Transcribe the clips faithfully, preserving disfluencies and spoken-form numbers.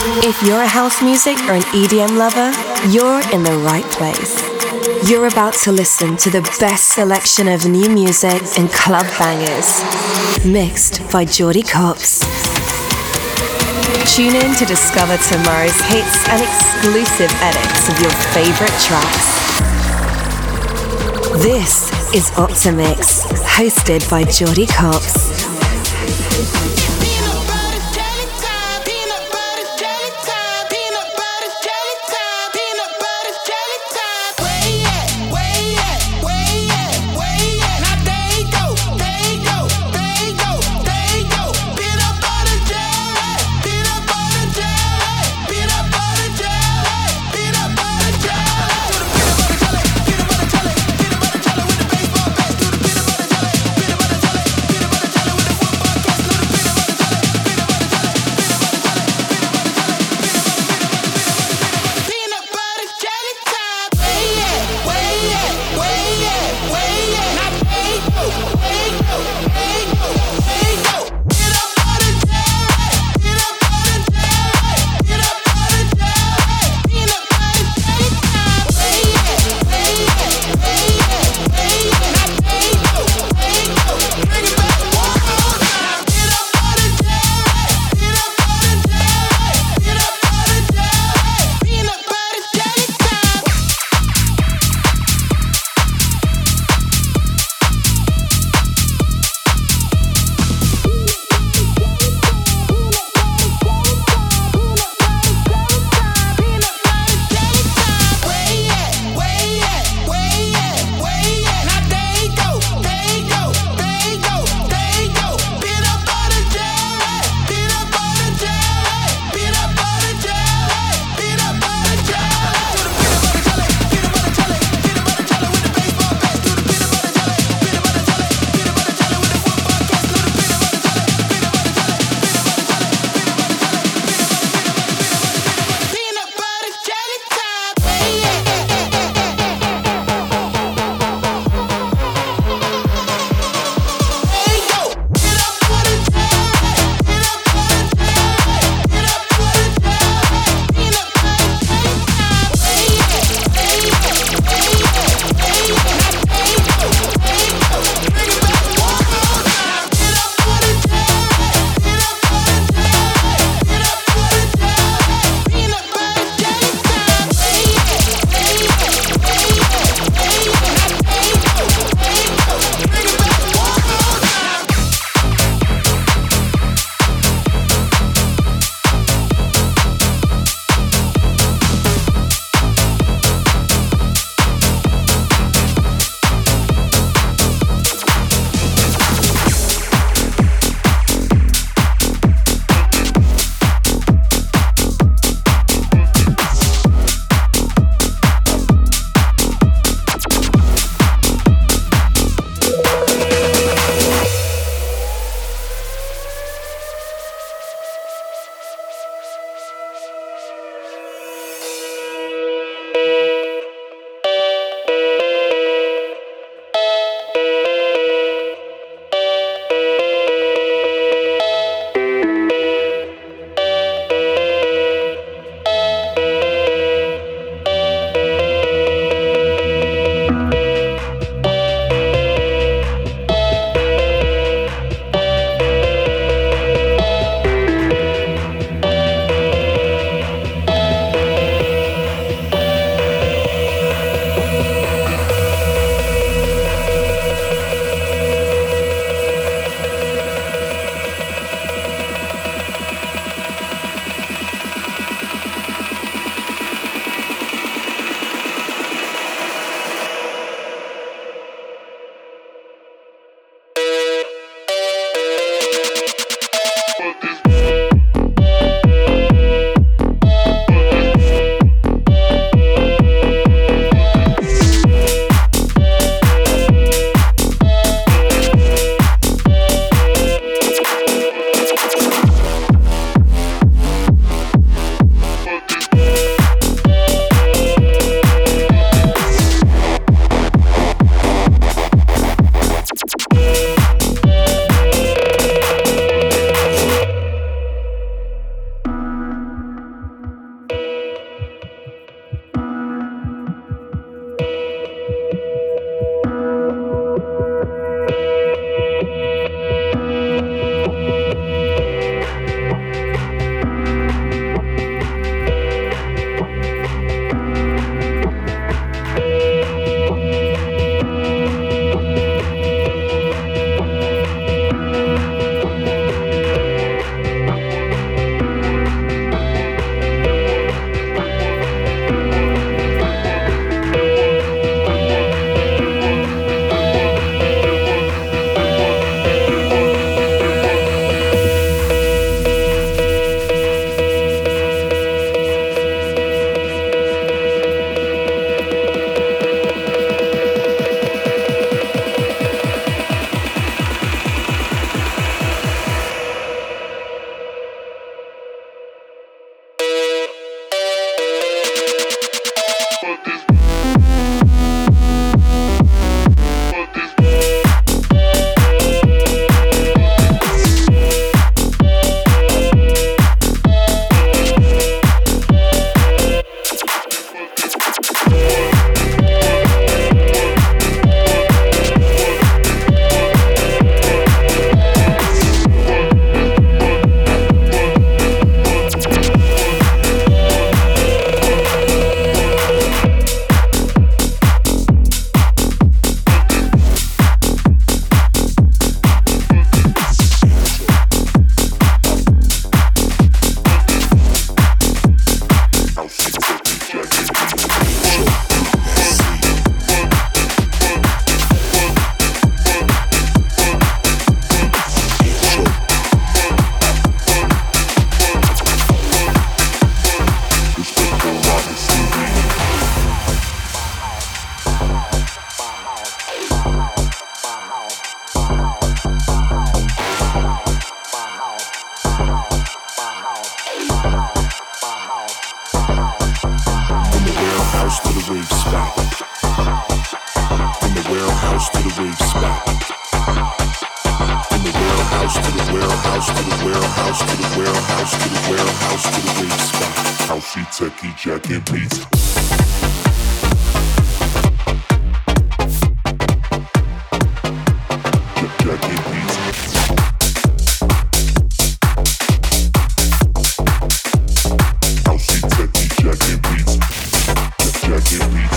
If you're a house music or an E D M lover, you're in the right place. You're about to listen to the best selection of new music and club bangers, mixed by Jordy Copz. Tune in to discover tomorrow's hits and exclusive edits of your favorite tracks. This is Optimix, hosted by Jordy Copz. rave spot. From the warehouse to the rave spot. From the warehouse to the warehouse to the warehouse to the warehouse to the warehouse to the rave spot. Housey, techie, jack and beats. Jack and beats. Housey, techie, jack and beats. Jack and beats.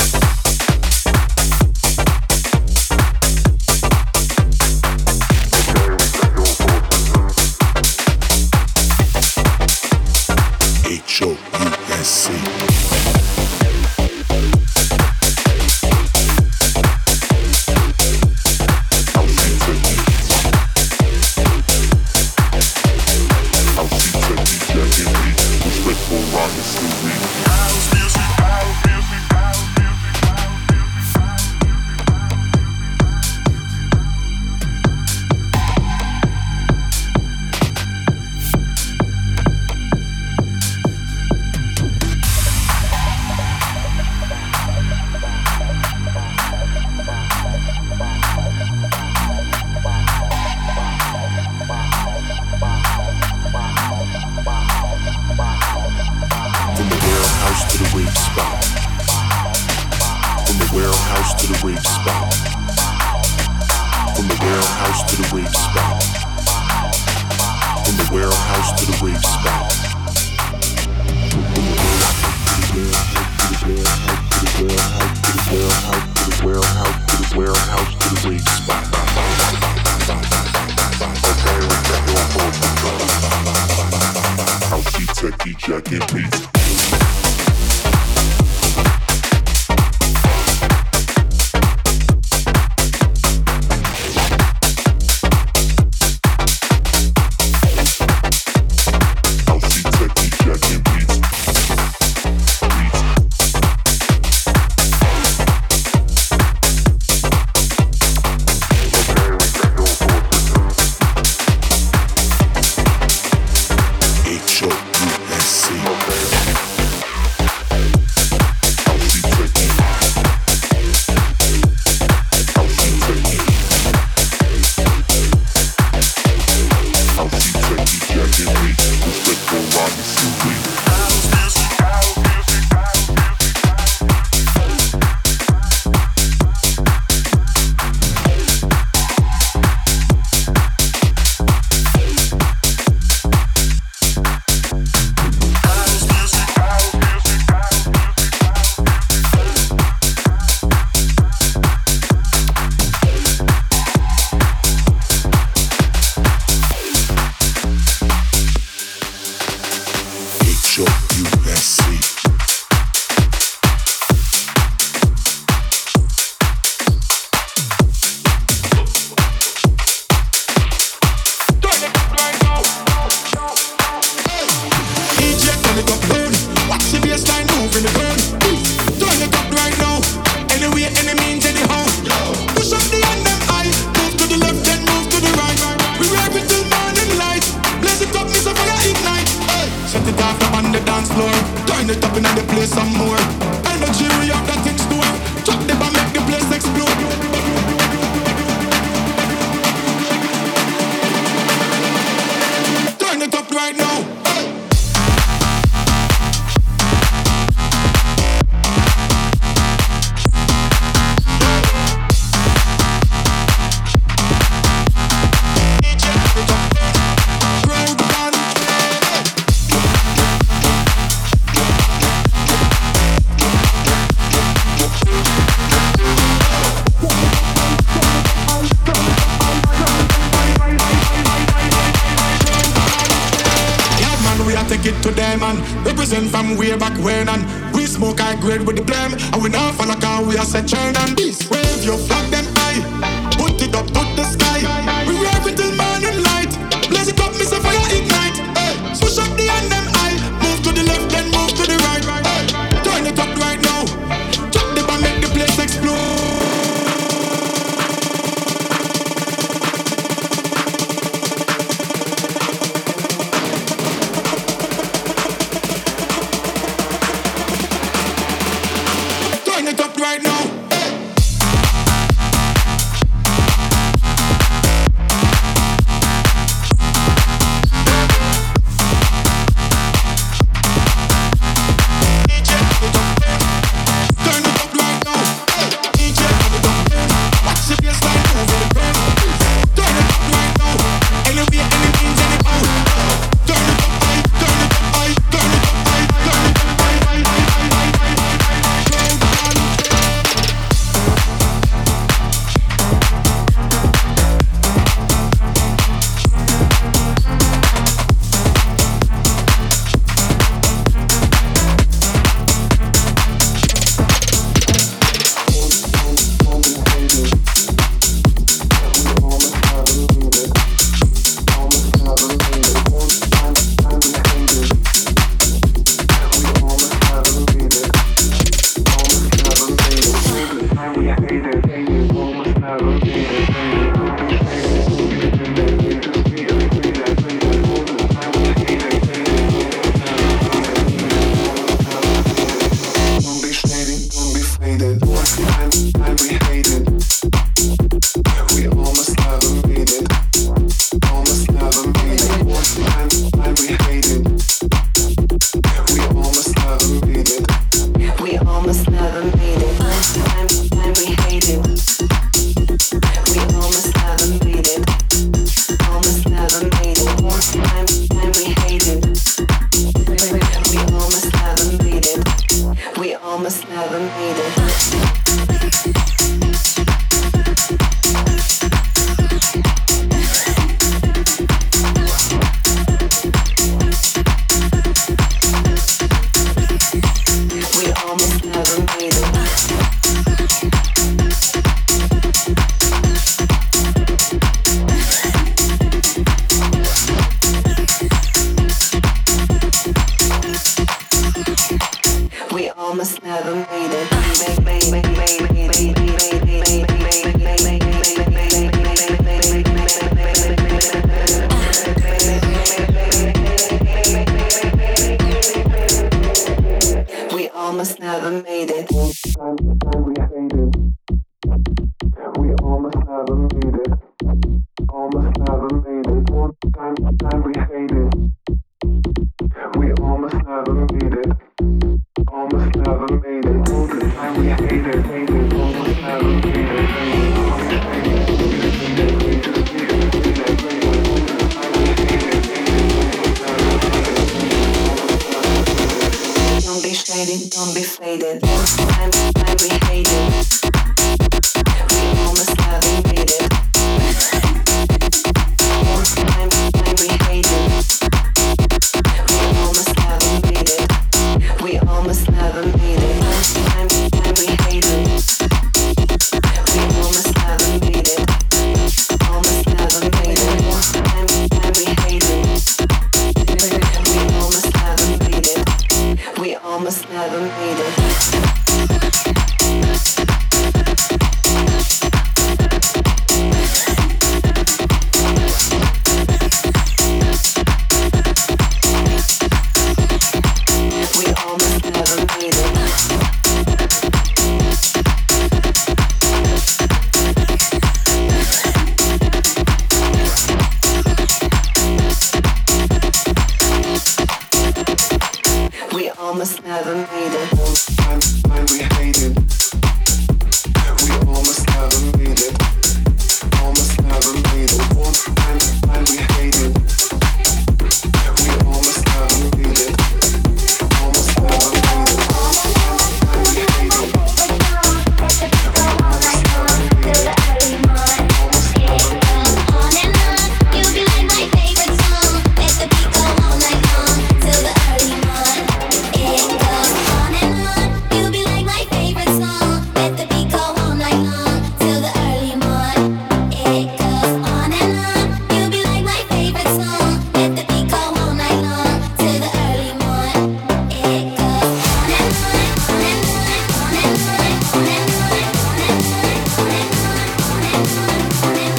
H O U S C. Represent from way back when, and we smoke high grade with the blame, and we not follow car, we are set turn and this wave your flag them high, put it up to the sky. We rave it till morning light, blaze it up, miss a fire ignite. Hey, push up the hand them high, move to the left then move to the right. Hey, turn it up right now, drop the bomb, make the place explode. made it. Time, time we hated. We almost never made it. Almost never made it. One time, time we hated. We almost never made it. Almost never made it. All the time we hated, hated. Almost never made it. Hated. Almost hated. We just made it. We just made it. Made it. Made it. All the time we hated, hated. Almost never made it. Almost never made it. Don't be shaded, don't be faded. Time, time we hated. We almost never made it. Time, time we hated. We almost never made it. We almost never made it. Time, time we hated. We almost never made it. Almost never made it. Time, time we hated. We almost never made it. We almost never made it. Almost never made it. Time, time we hated. We almost never made it. Almost never made it. One time, time we hated. We almost never made it. Almost never made it. Time we hated. We almost never made it. Almost never made it. On and on, you'll be like my favorite song. Let the beat go all night long till the early morning. It goes on and on. You'll be like my favorite song. Let the beat go all night long till the early morning. It goes on and on. You'll be like my favorite song. Let the beat go all night long till the early morning. It goes on and on, on and on, on and on, on and on, on and on, on and on, on and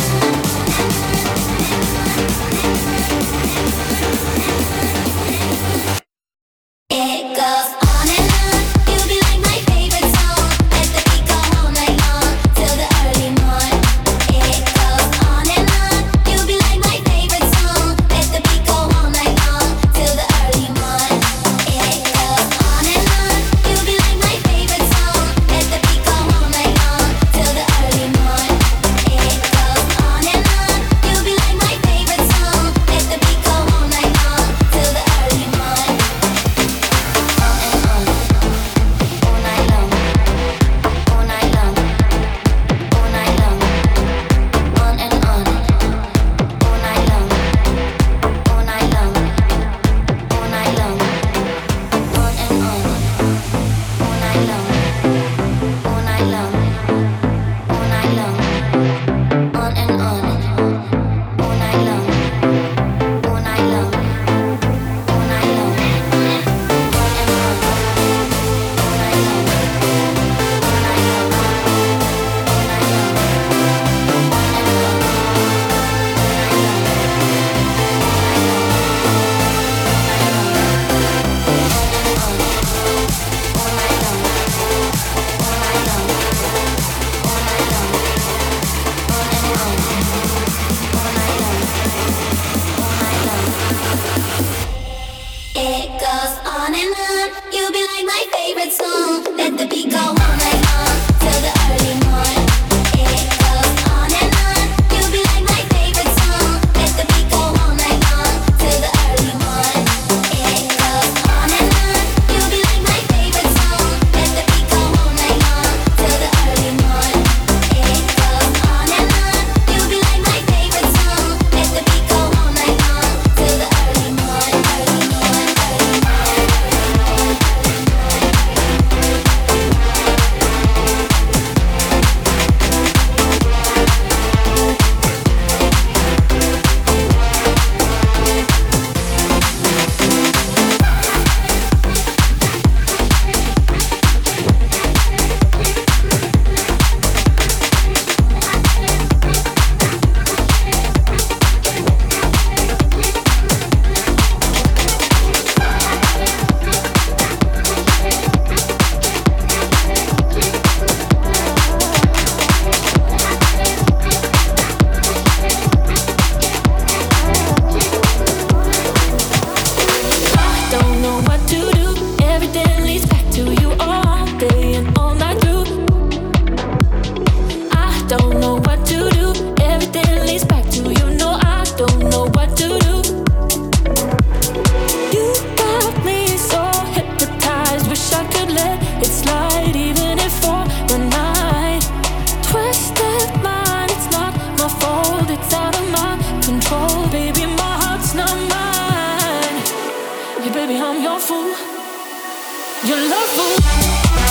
on. It goes on and on. You'll be like my favorite song. Let the beat go all night long till the early morning. It goes on and on. You'll be like my favorite song. Let the beat go all night long till the early morning. It goes on and on. You'll be like my favorite song. Let the beat go all night long till the early morning. It goes on and on. You'll be like my favorite song. Let the beat go all night long till the early morning. It goes on and on. You'll be like my favorite song. Let the beat go all night long till the early morning. It goes on and on. You'll be like my favorite song. Let the beat go all night long till the early morning. It goes on and on. You'll be like my favorite song. Let the beat go all night long till the early morning. It goes on and on. You'll be like my favorite song. Let the beat go all night long till the early morning. Early morning, early morning, early morning, early morning. I'm your fool. Your love fool.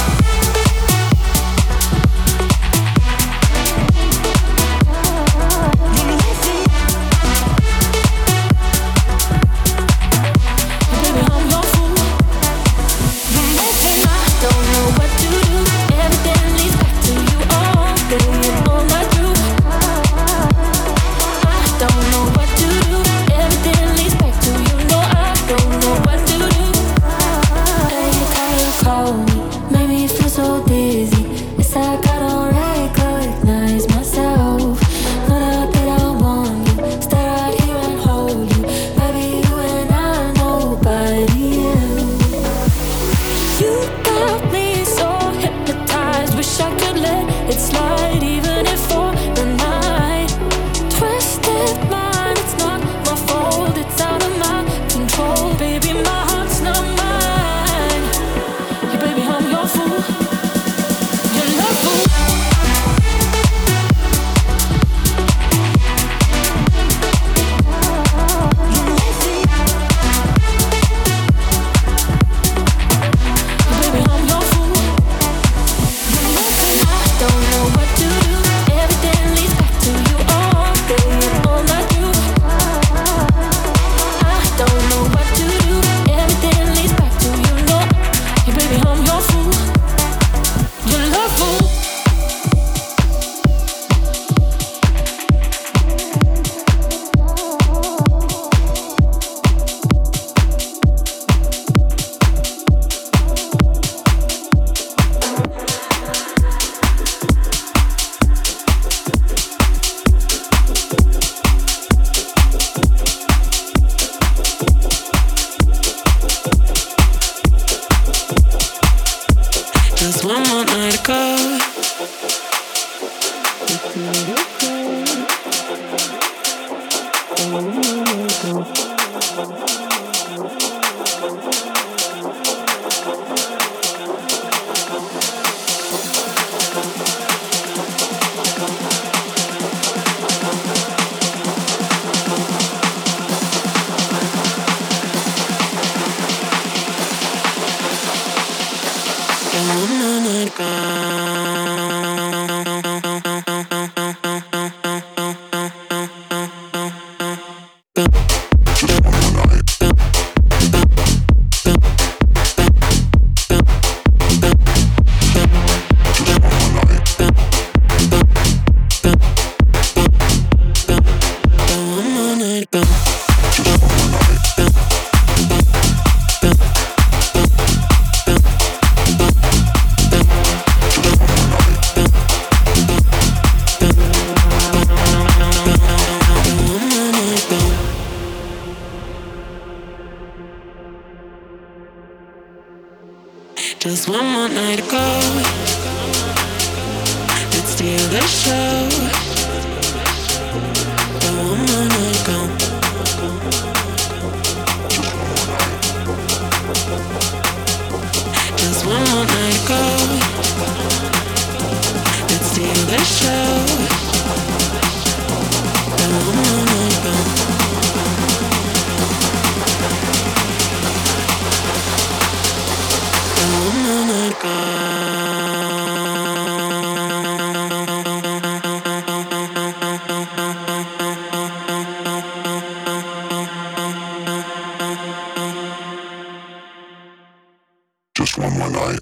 Just one more night to go. Let's steal the show. But one more night to go. Just one more night to go. Let's steal the show. But one more night to go. Just one more night.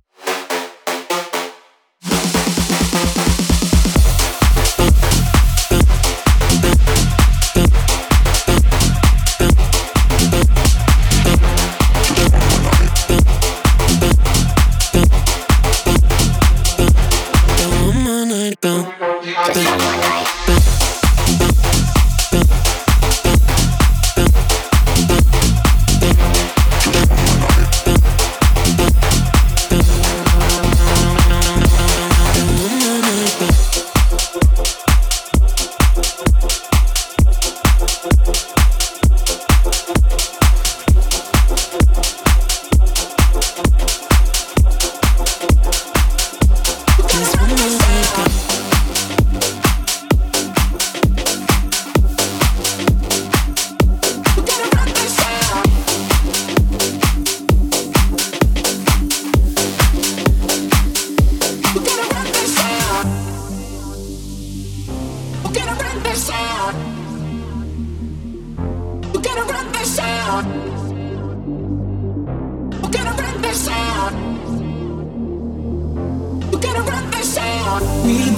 Bye.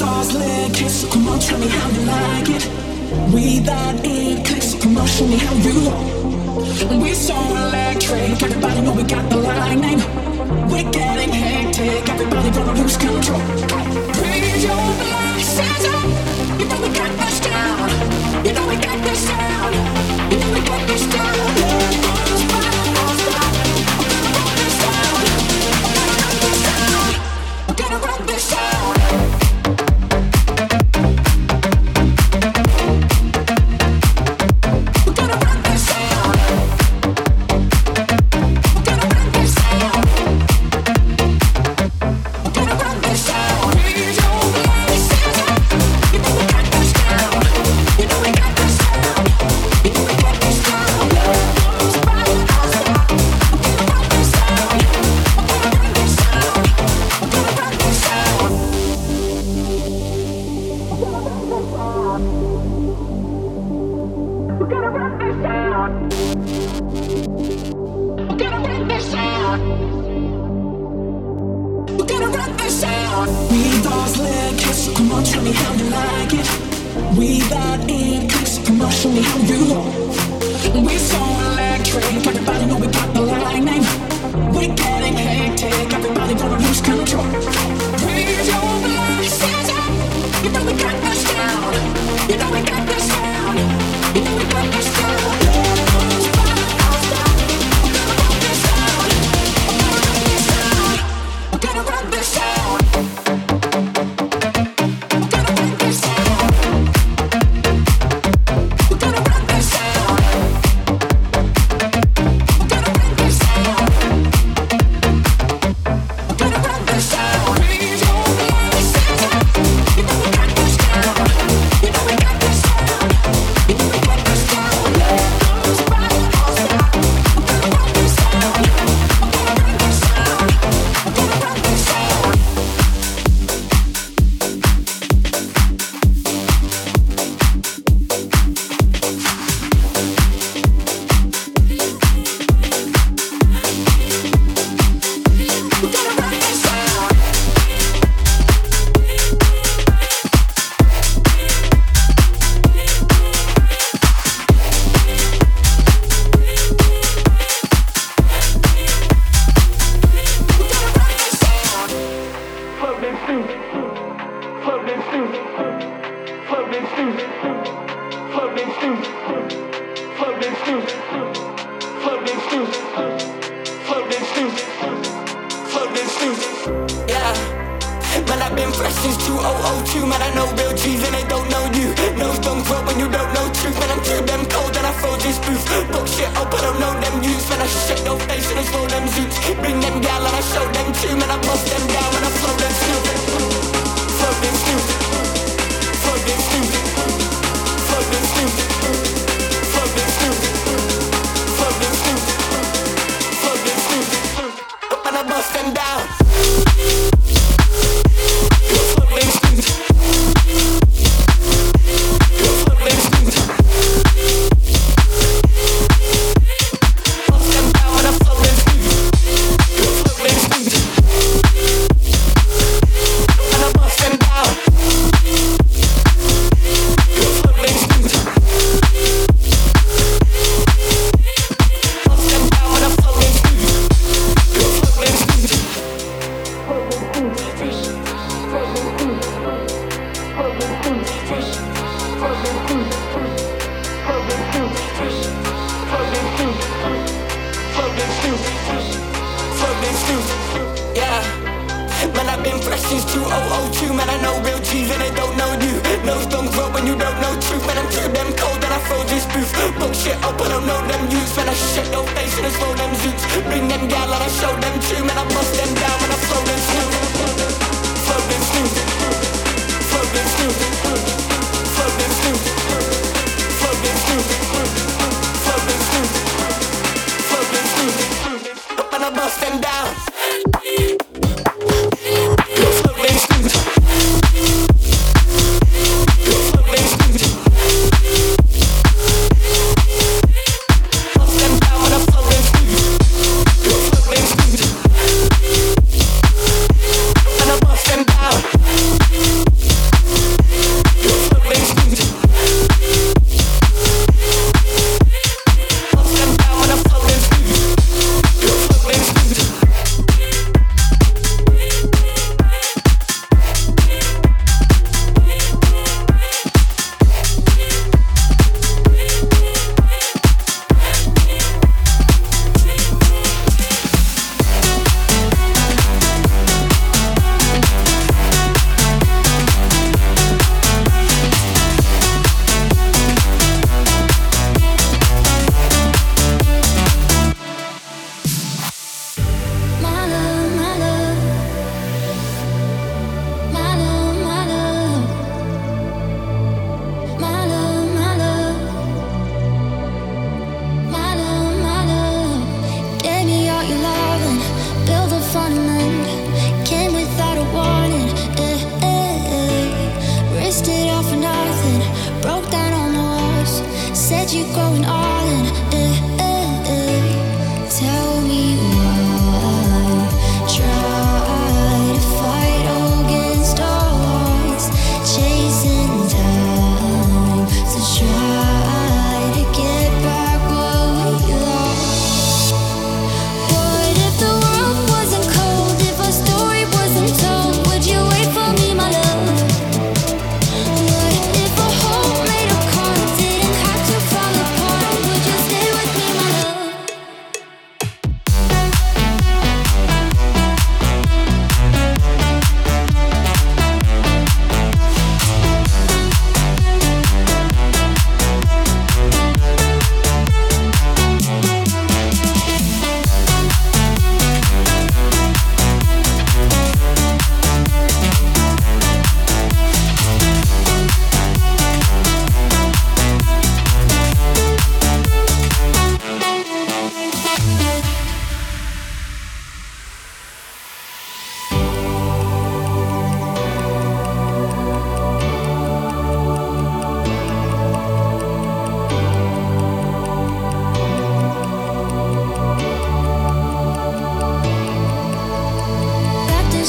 doors leg kiss, so come on, tell me how you like it. We that in clicks, so come on, show me how you roll. We so electric, everybody know we got the lightning. We're getting hectic, everybody gonna lose control. Raise your glasses up, you know we got this down. You know we got this down. You know we got this down. Let's run this down. We're gonna run this down.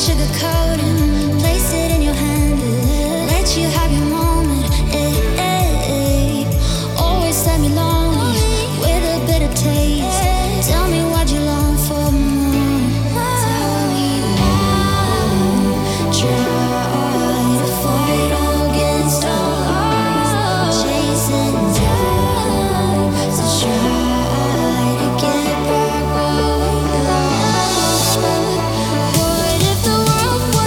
sugarcoating, place it in your hand, let you have your moment. Eh, eh, eh. Always let me lonely with a bitter taste. Tell me what you long for more. Tell me now. Try to fight against all odds, chasing time. So try to get back what we lost. What if the world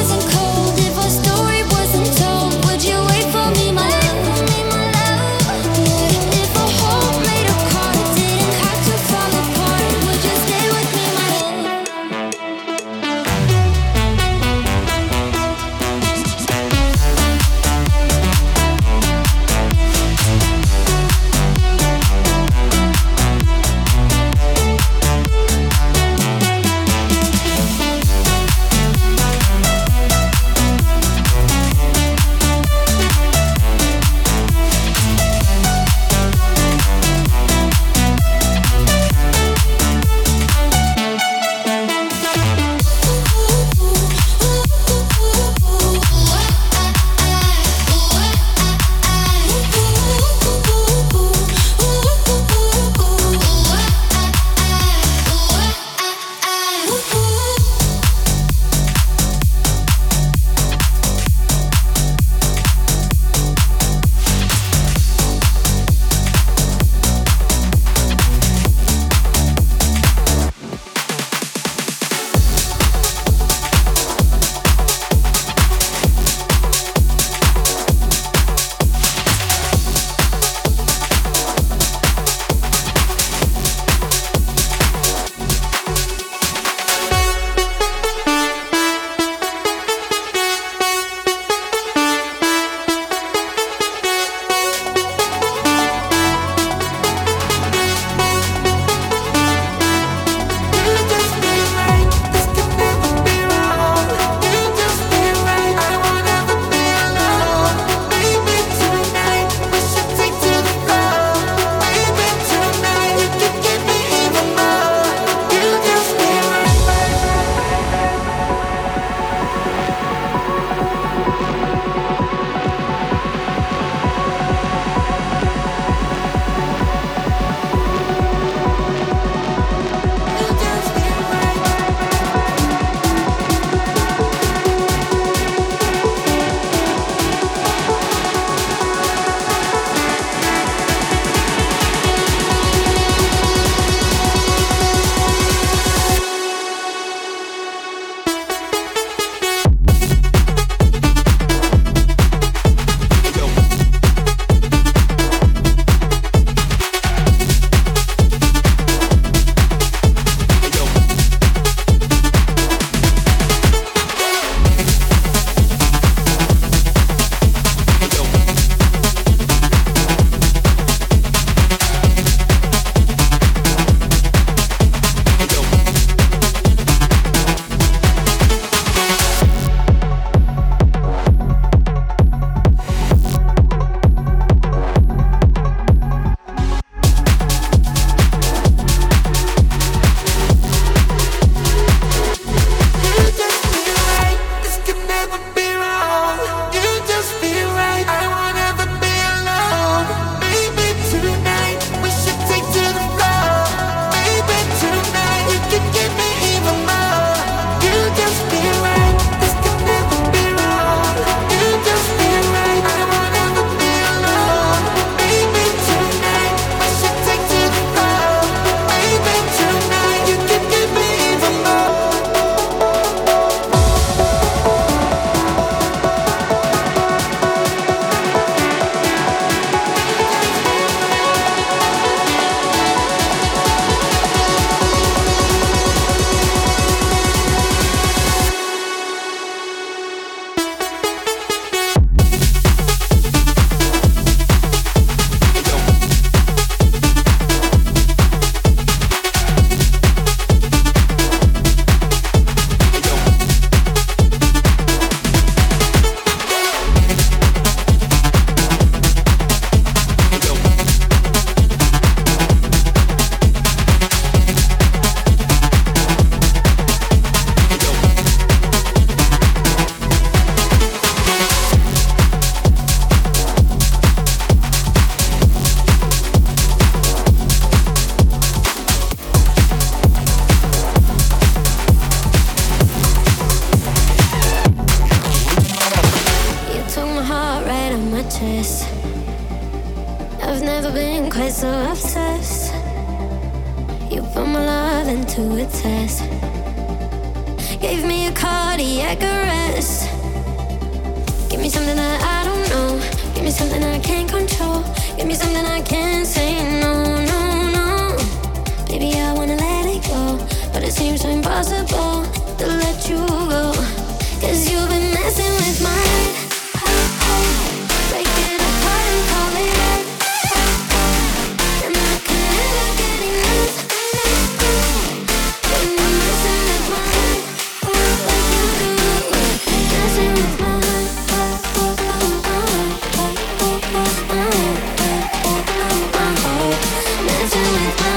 so obsessed. You put my love into a test. Gave me a cardiac arrest. Give me something that I don't know. Give me something I can't control. Give me something I can't say no, no, no. Baby, I wanna let it go, but it seems so impossible to let you go. Cause you've been messing with my head. Break it apart and call it art. And I can never get enough. When you're messing with my head, like you do. Messing with my head. Messing with my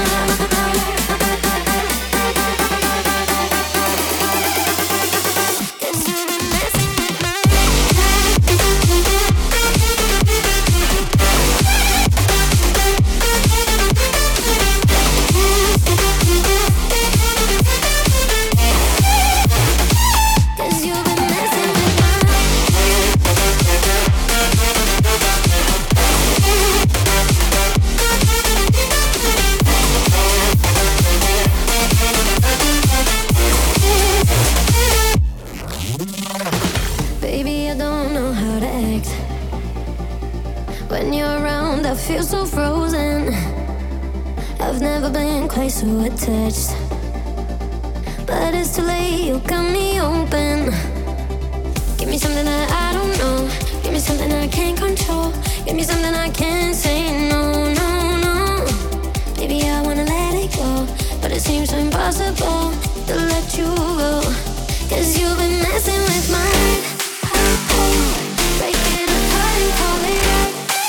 feel so frozen. I've never been quite so attached, but it's too late, you got me open. Give me something that I don't know. Give me something I can't control. Give me something I can't say no, no, no. Baby, I wanna let it go, but it seems so impossible to let you go. Cause you've been messing with my head. Break it apart and call it art.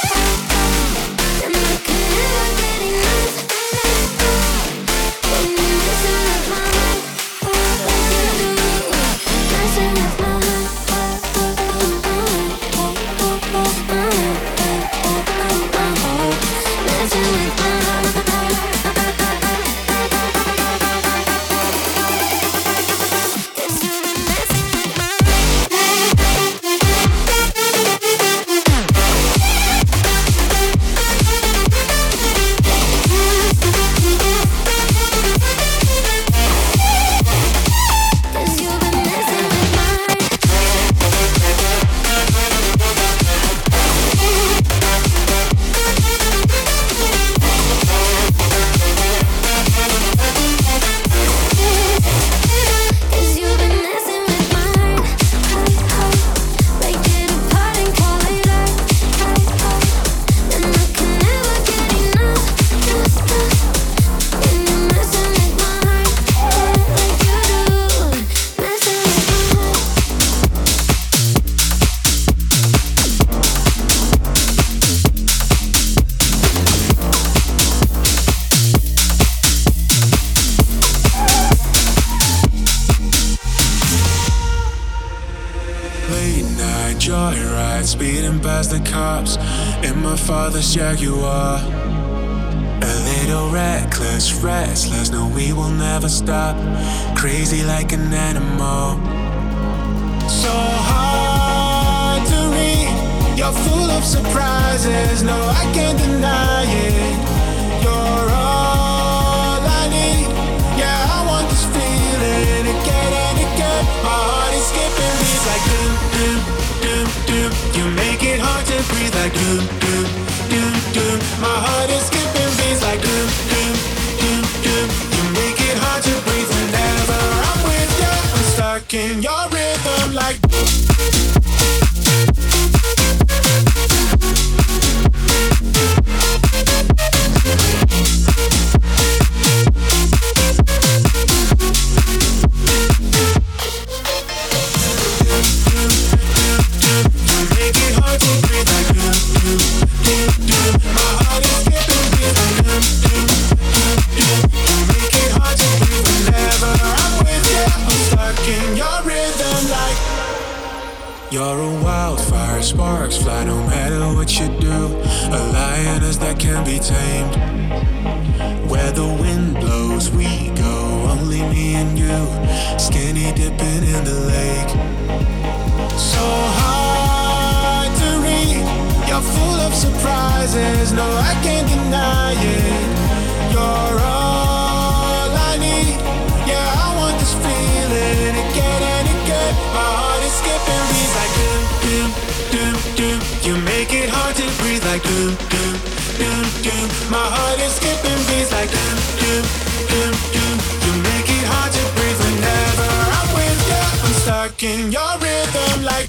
The cops in my father's Jaguar. A little reckless, restless. No, we will never stop. Crazy like an animal. So hard to read. You're full of surprises. No, I can't deny it. You're all I need. Yeah, I want this feeling again and again. My heart is skipping beats like doom, doom, doom, doom. You make it hard to breathe like doom, doom, doom, doom. My heart is skipping beats like doom, doom, doom, doom. You make it hard to breathe whenever I'm with you. I'm stuck in your rhythm like you're a wildfire, sparks fly no matter what you do. A lioness that can be tamed. Where the wind blows, we go. Only me and you, skinny dipping in the lake. So hard to read. You're full of surprises. No, I can't deny like doom, doom, doom, doom. My heart is skipping beats like doom, doom, doom, doom. You make it hard to breathe whenever I'm with you. I'm stuck in your rhythm like.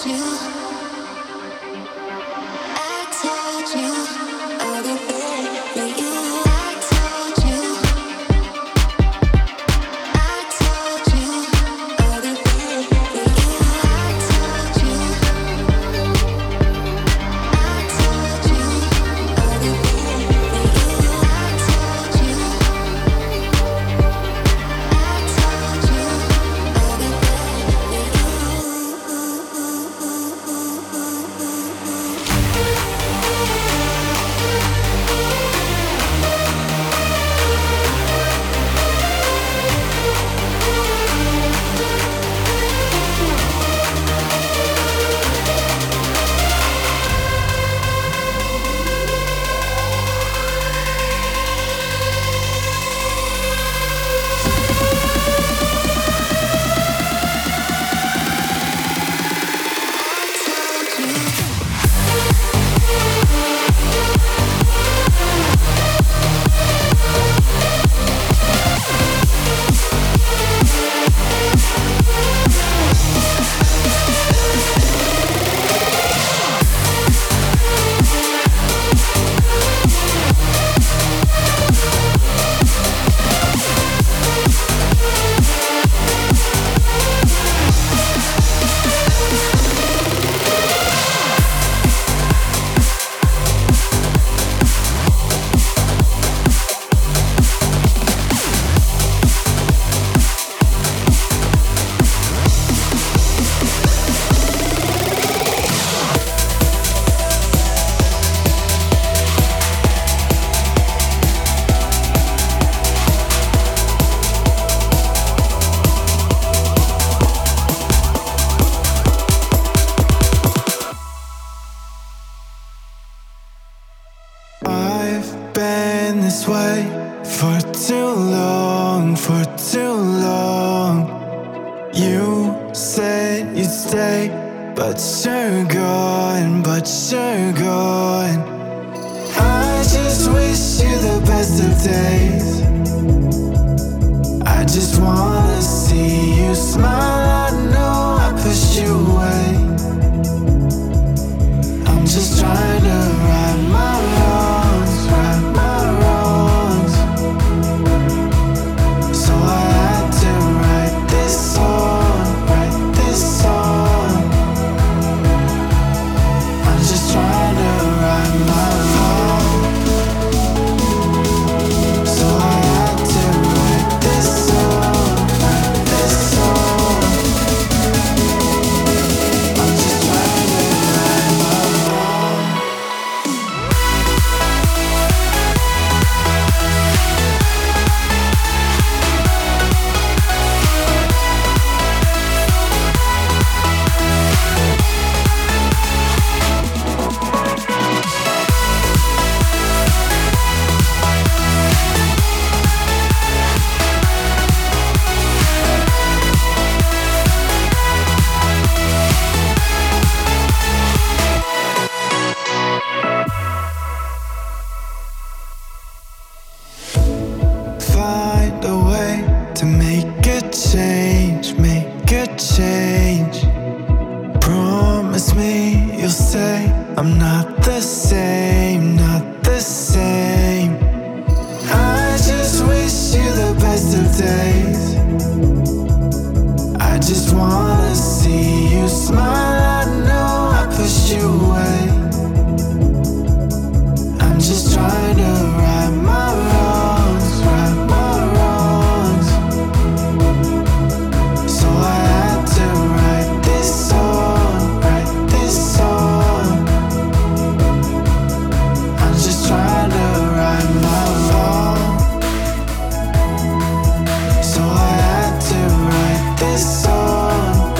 So I had to write this song.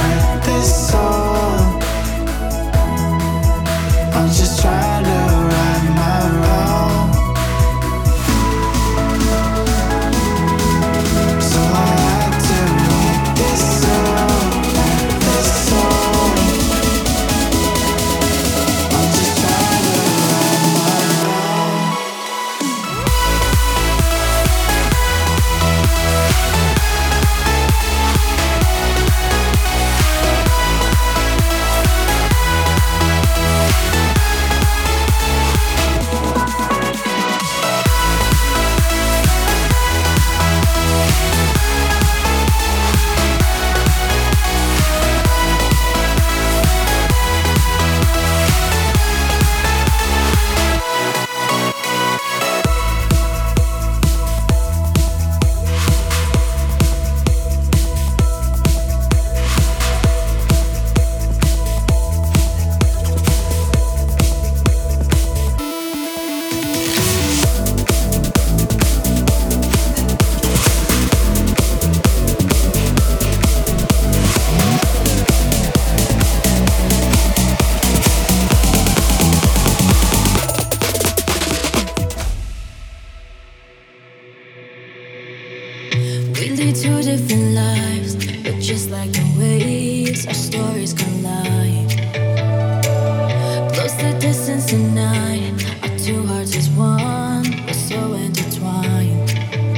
Just like the waves, our stories collide. Close the distance tonight. Our two hearts is one. We're so intertwined.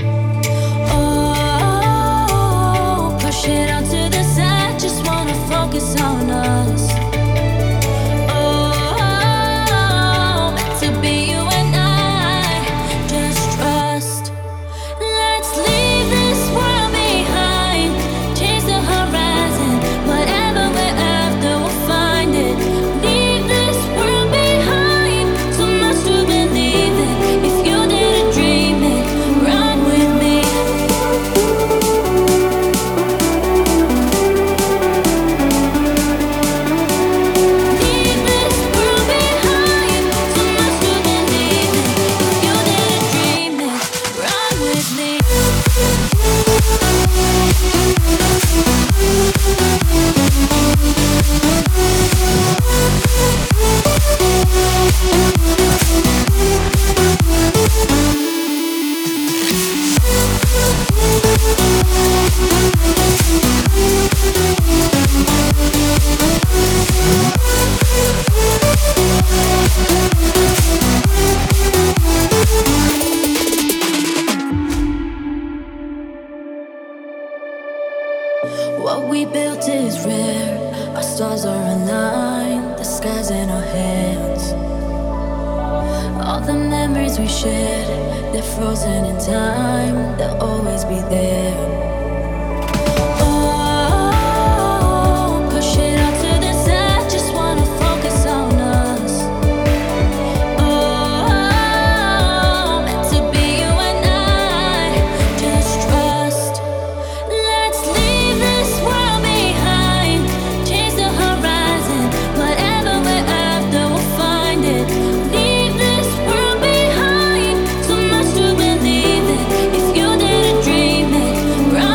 Oh, push it out to the side. Just wanna focus on us. Oh, meant to be you and I. Just trust. Let's leave this world behind. Change the horizon. Whatever we're after, we'll find it. Leave this world behind. So much to believe in. If you didn't dream it, run with me. Leave this world behind. So much to believe in. If you didn't dream it, run with me. What we built is rare. Our stars are aligned. The sky's in our hands. All the memories we shared, they're frozen in time. They'll always be there. Oh, push it out to the side. Just wanna focus on us. Oh, meant to be you and I. Just trust. Let's leave this world behind. Change the horizon. Whatever we're after, we'll find it. Leave this world behind. So much to believe in. If you didn't dream it, run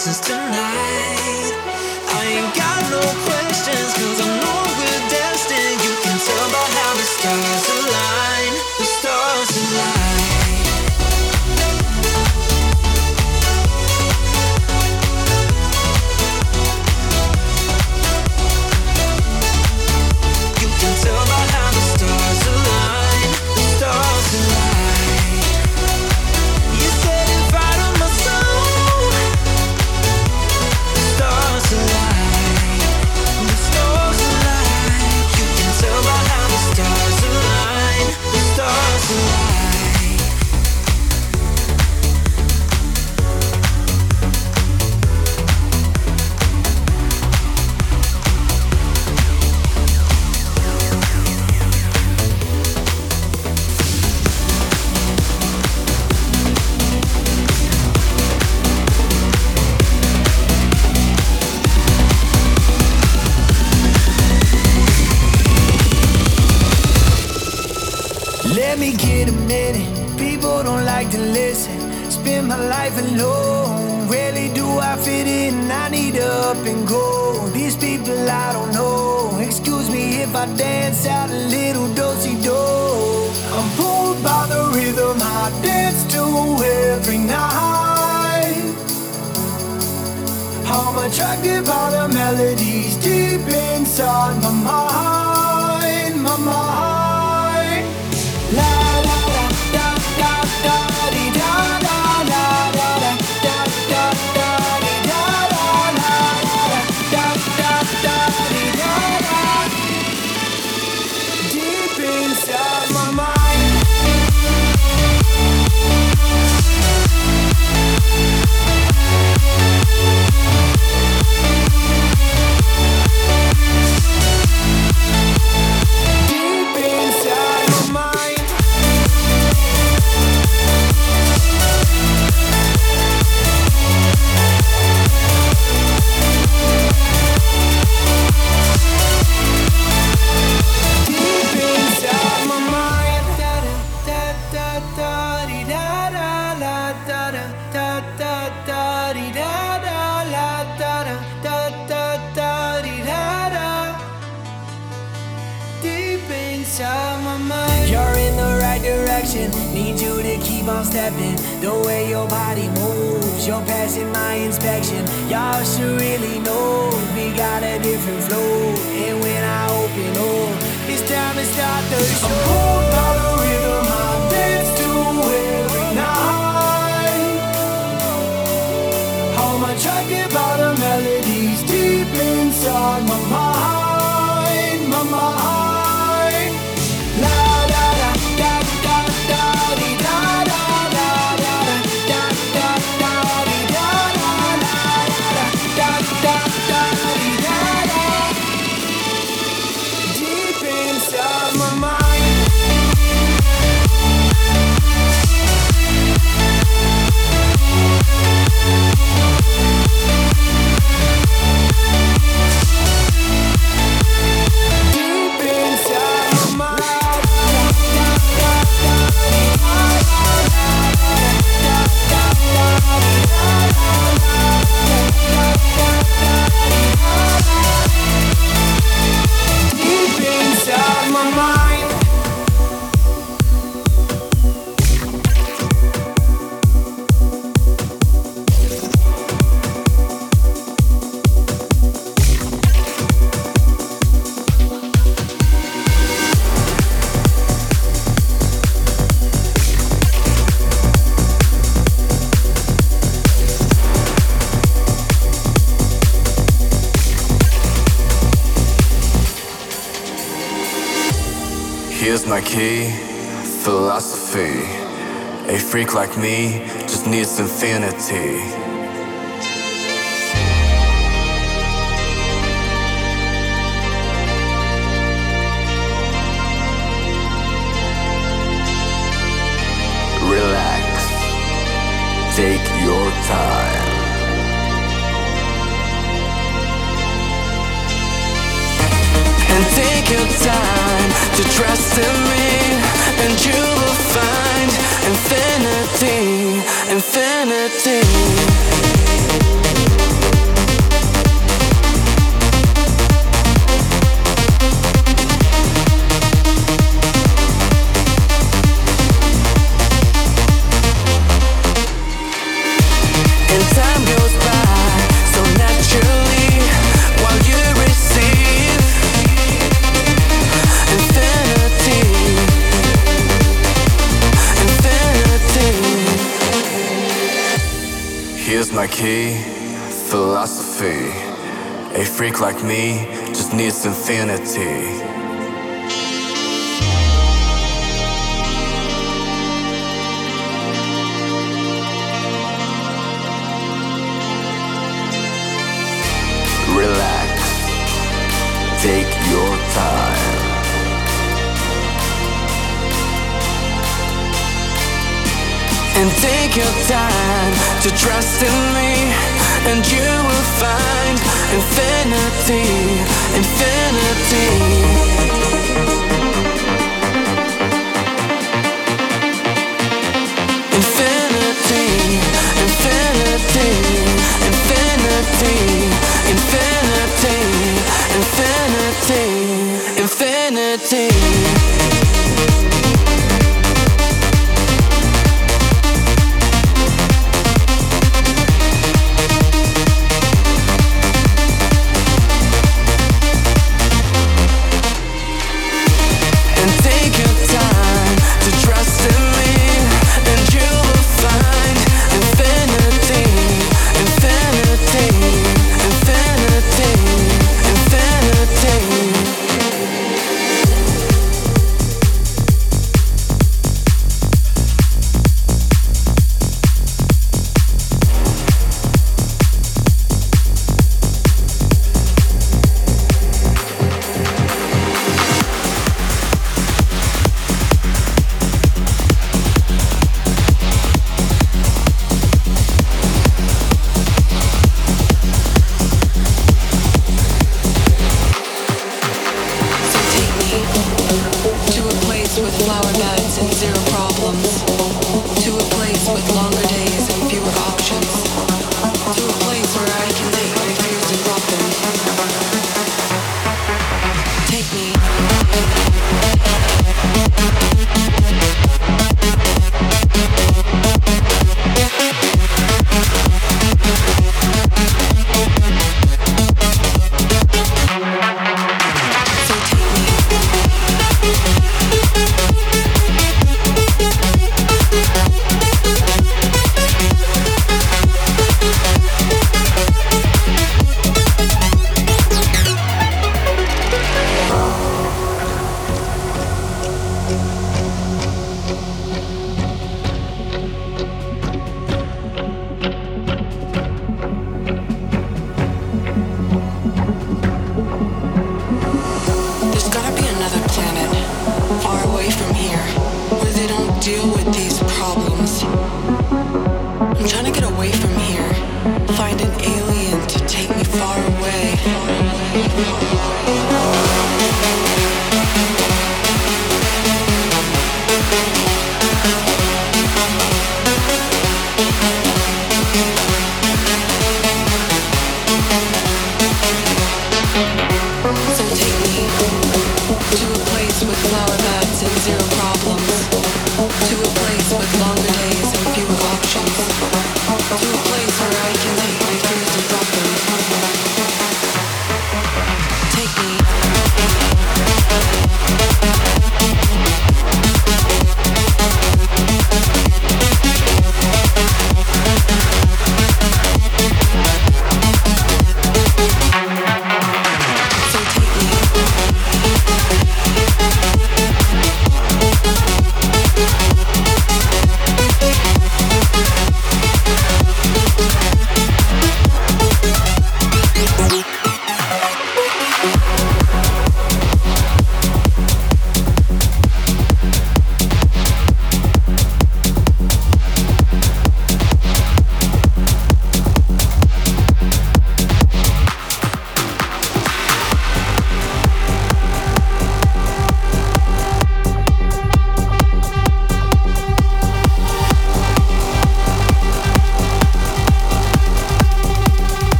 lessons tonight. I ain't got no questions, cause I know we're destined. You can tell by how the stars align. The stars align. You can tell by how the stars align. The stars align. You set it right on my soul. The stars align. The stars align. You can tell by how the stars align. The stars align. Let me get a minute. People don't like to listen. Spend my life alone. Rarely do I fit in. I need to up and go. These people I don't know. Excuse me if I dance out a little do-si-do. I'm pulled by the rhythm I dance to every night. I'm attracted by the melodies deep inside my mind, my mind. La la la da da da di da da la la la da da da di da la la la da da da di da la. Deep inside my mind. Deep inside my mind. Deep inside my mind. Da da da da di da da la da da da da da di da da la da da da da da di da da. Deep inside my mind. You're in the right direction. Need you to keep on stepping. The way your body moves, you're passing my inspection. Y'all should really know we got a different flow. And when I open up, it's time to start the show. I'm pulled by the rhythm I dance to every night. I'm attracted by the melodies deep inside my mind, my mind. La da da da da da di da da da da da da da di da da la la da da da di da da. Deep inside my mind. Deep inside my mind. Deep inside my mind. Here's my key, philosophy. A freak like me just needs infinity. Relax, take your time. And take your time to trust in me, and you will find infinity, infinity. my key, philosophy. A freak like me just needs infinity. Relax, take your time. And take your time to trust in me, and you will find infinity, infinity. Infinity, infinity, infinity, infinity, infinity, infinity.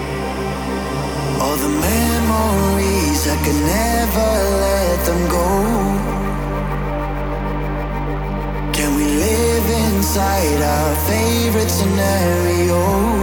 All the memories, I could never let them go. inside our favorite scenario.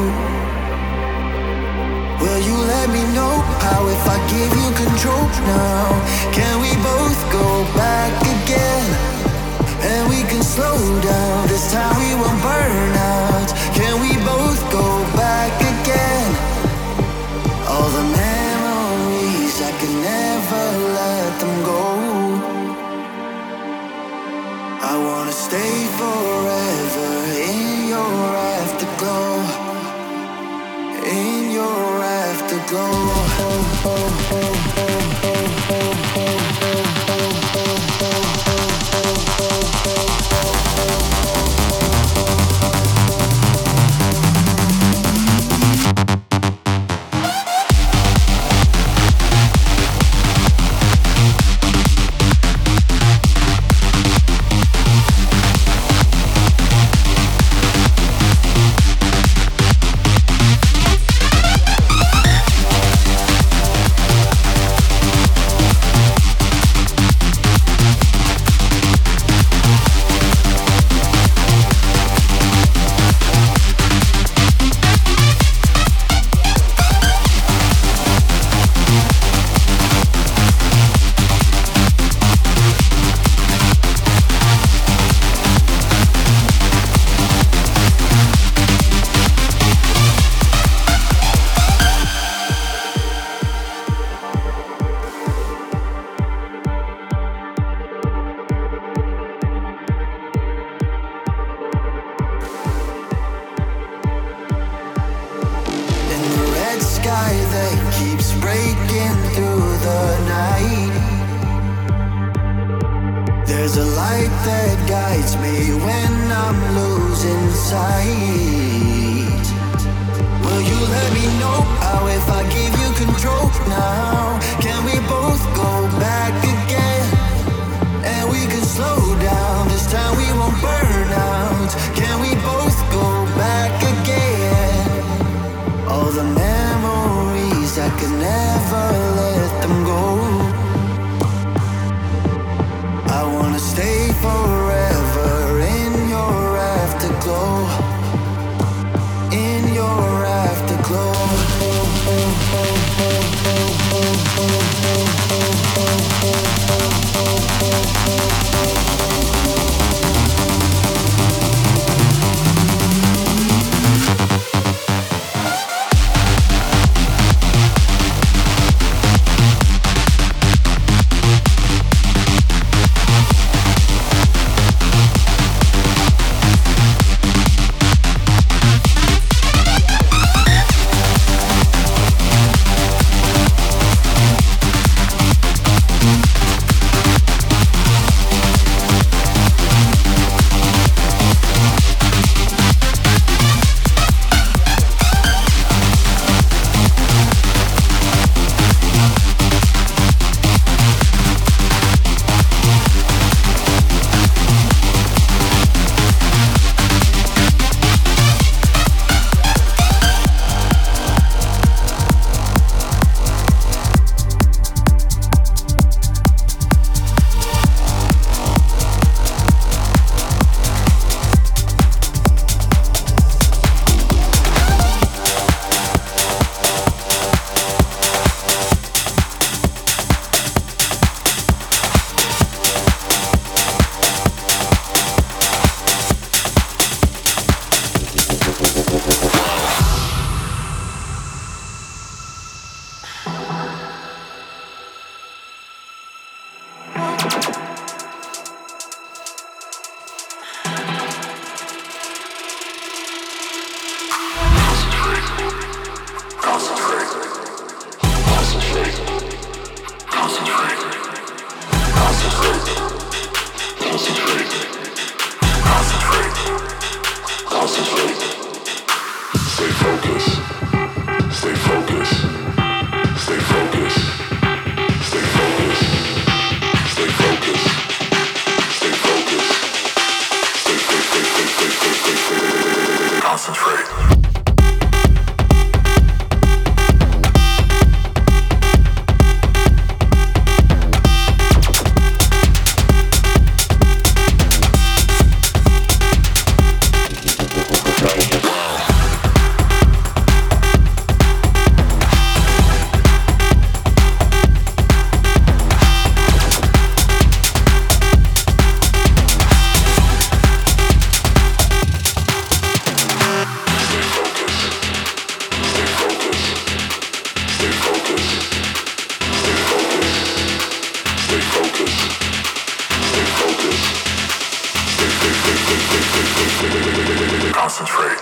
Will you let me know how if I give you control now? Can we both go back again? And we can slow down, this time we won't burn out. Can we both go back again? All the memories, I can never let them go. I wanna stay forever in your afterglow. In your afterglow. Concentrate.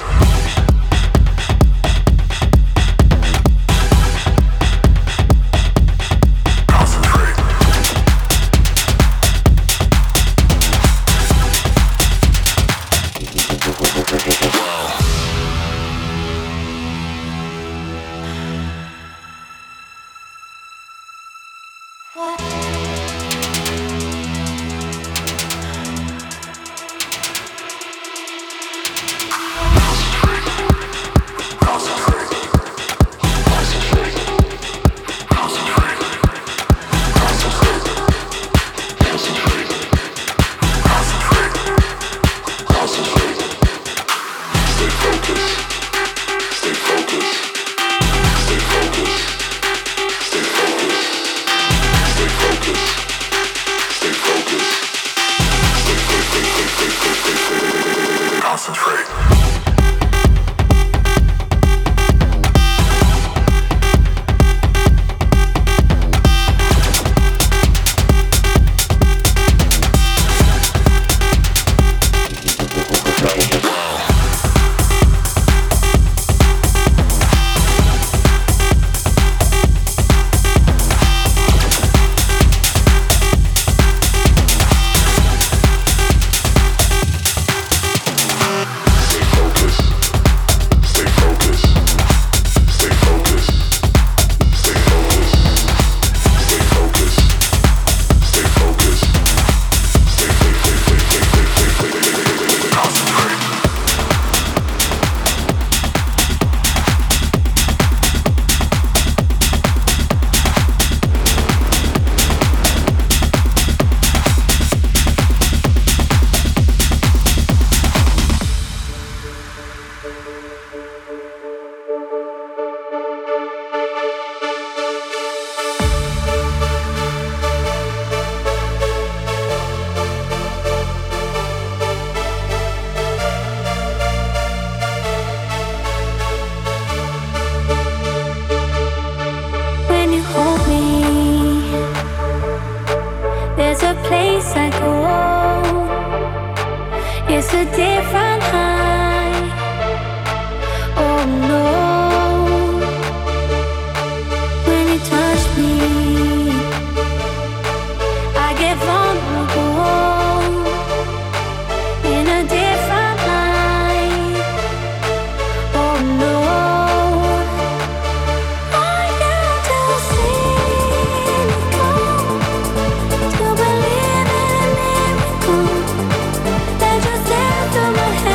To believe in a miracle that just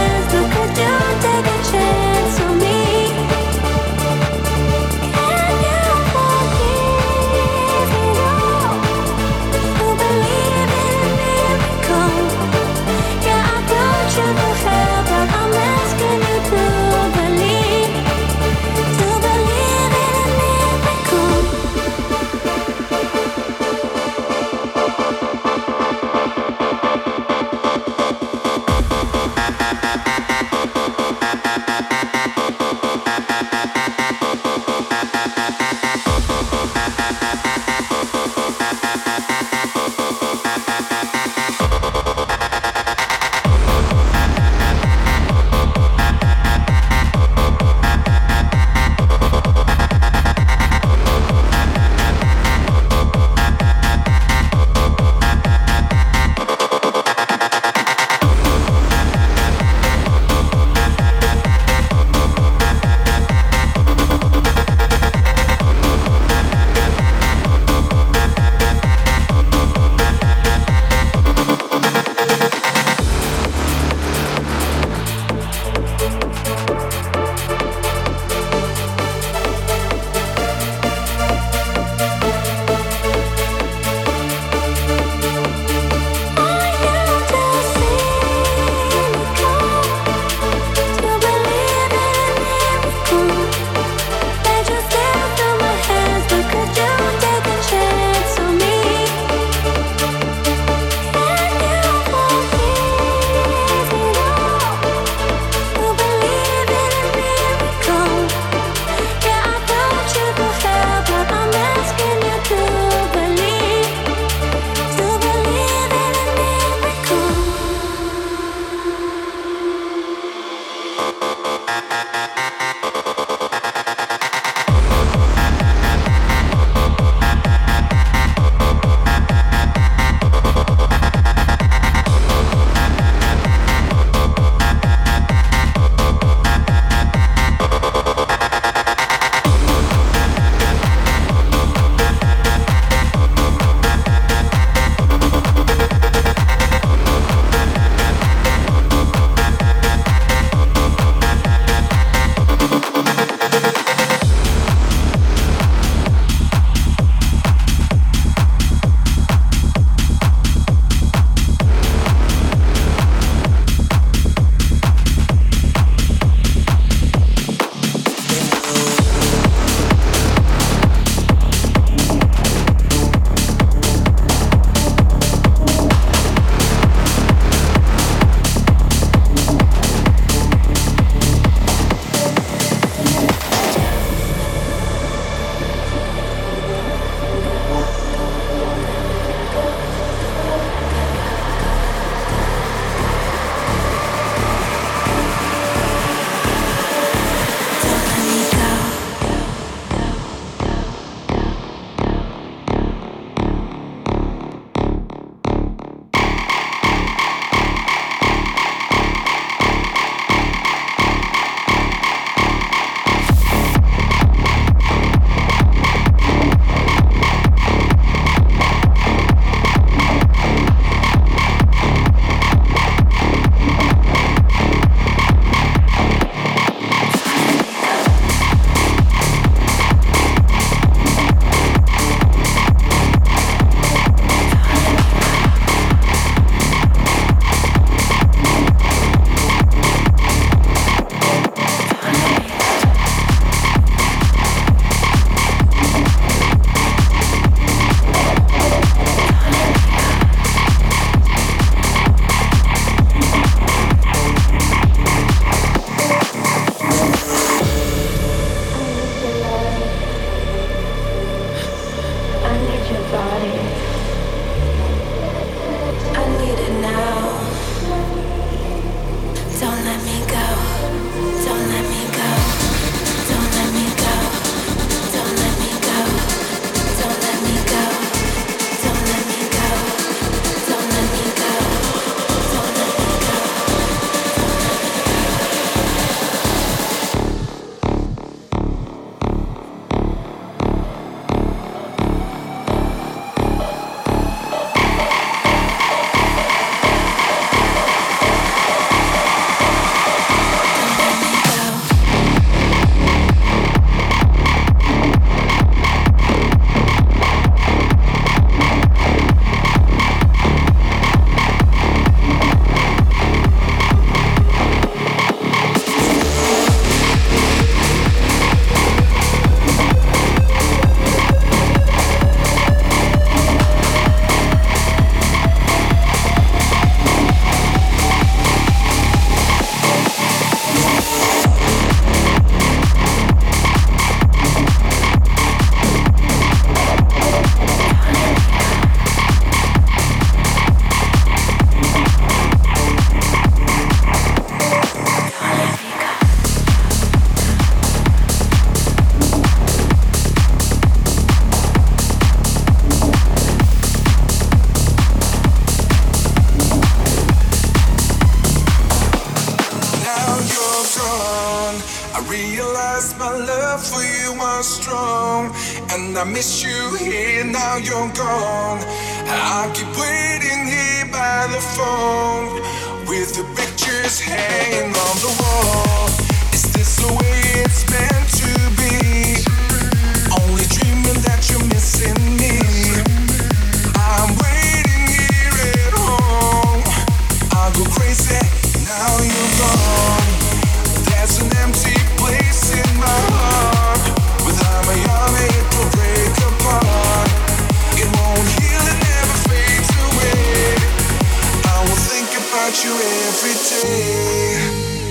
I realize my love for you was strong, and I miss you here, now you're gone. I keep waiting here by the phone, with the pictures hanging on the wall. Is this the way it's meant to be? Only dreaming that you're missing me. I'm waiting here at home. I'll go crazy, now you're gone. There's an empty place in my heart. Without my arm it will break apart. It won't heal, it never fades away. I will think about you every day.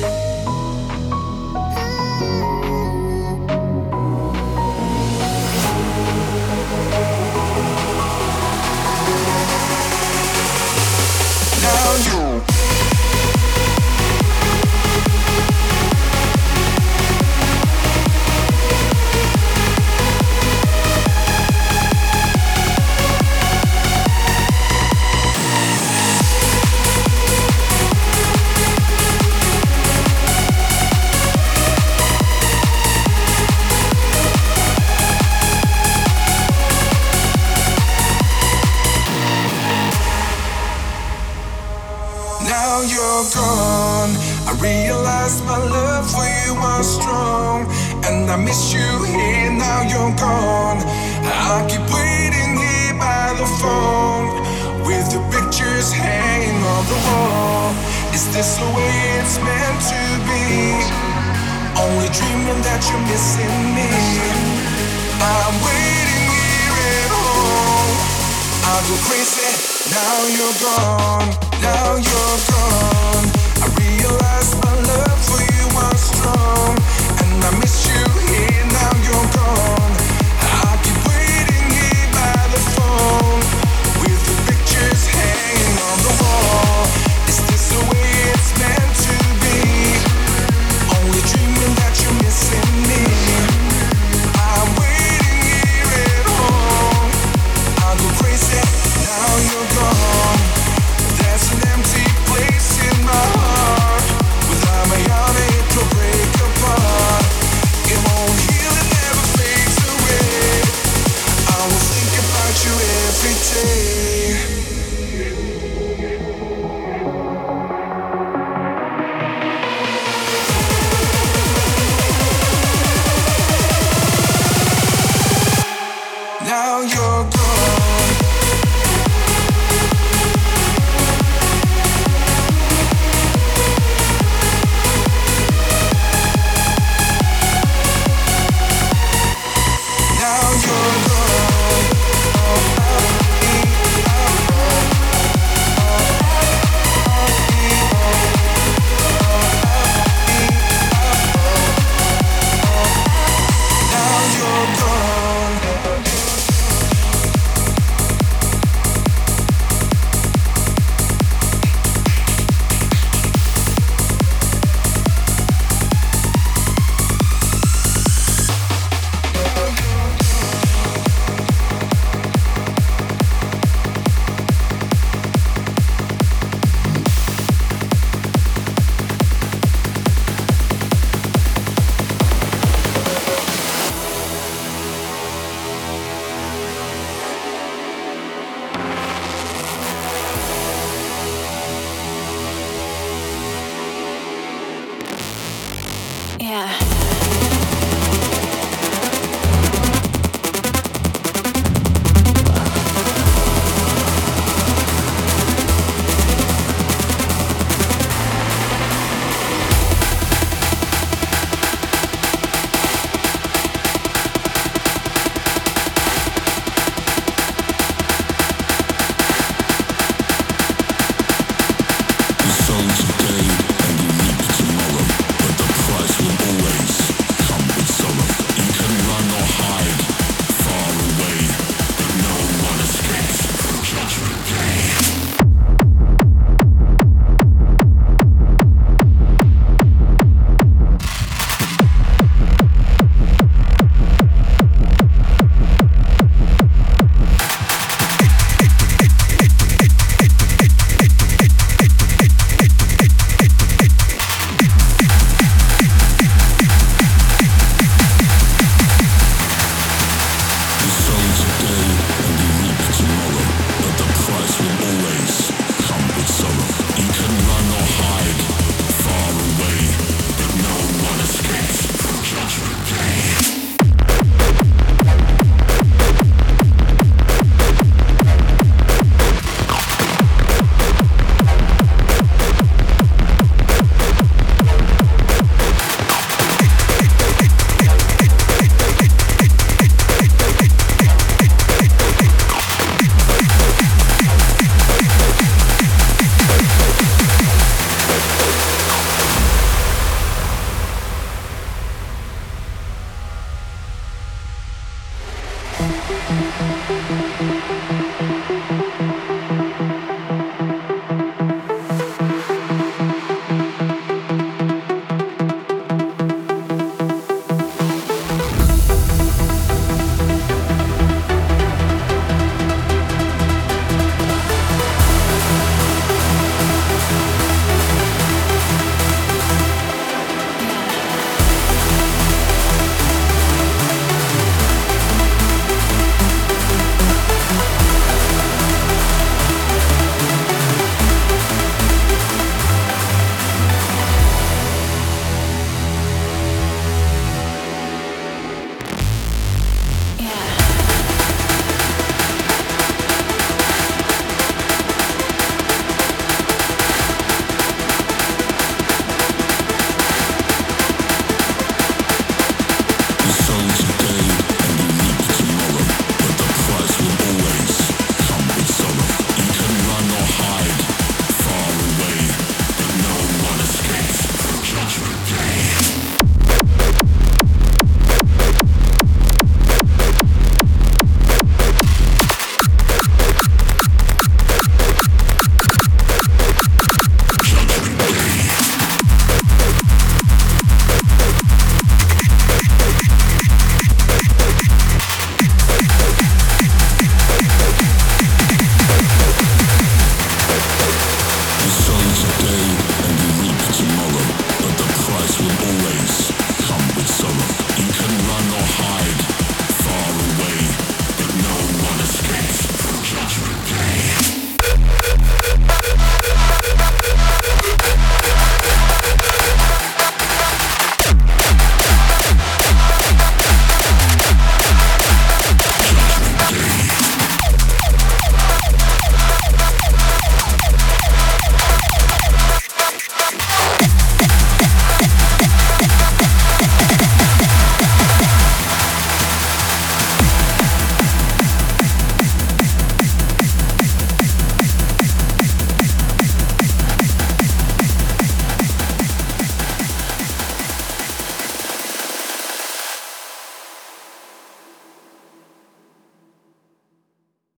Now you Now you're gone. I realize my love for you was strong, and I miss you here, now you're gone. I keep waiting here by the phone, with the pictures hanging on the wall. Is this the way it's meant to be? Only dreaming that you're missing me. I'm waiting here at home. I'll go crazy, now you're gone. Now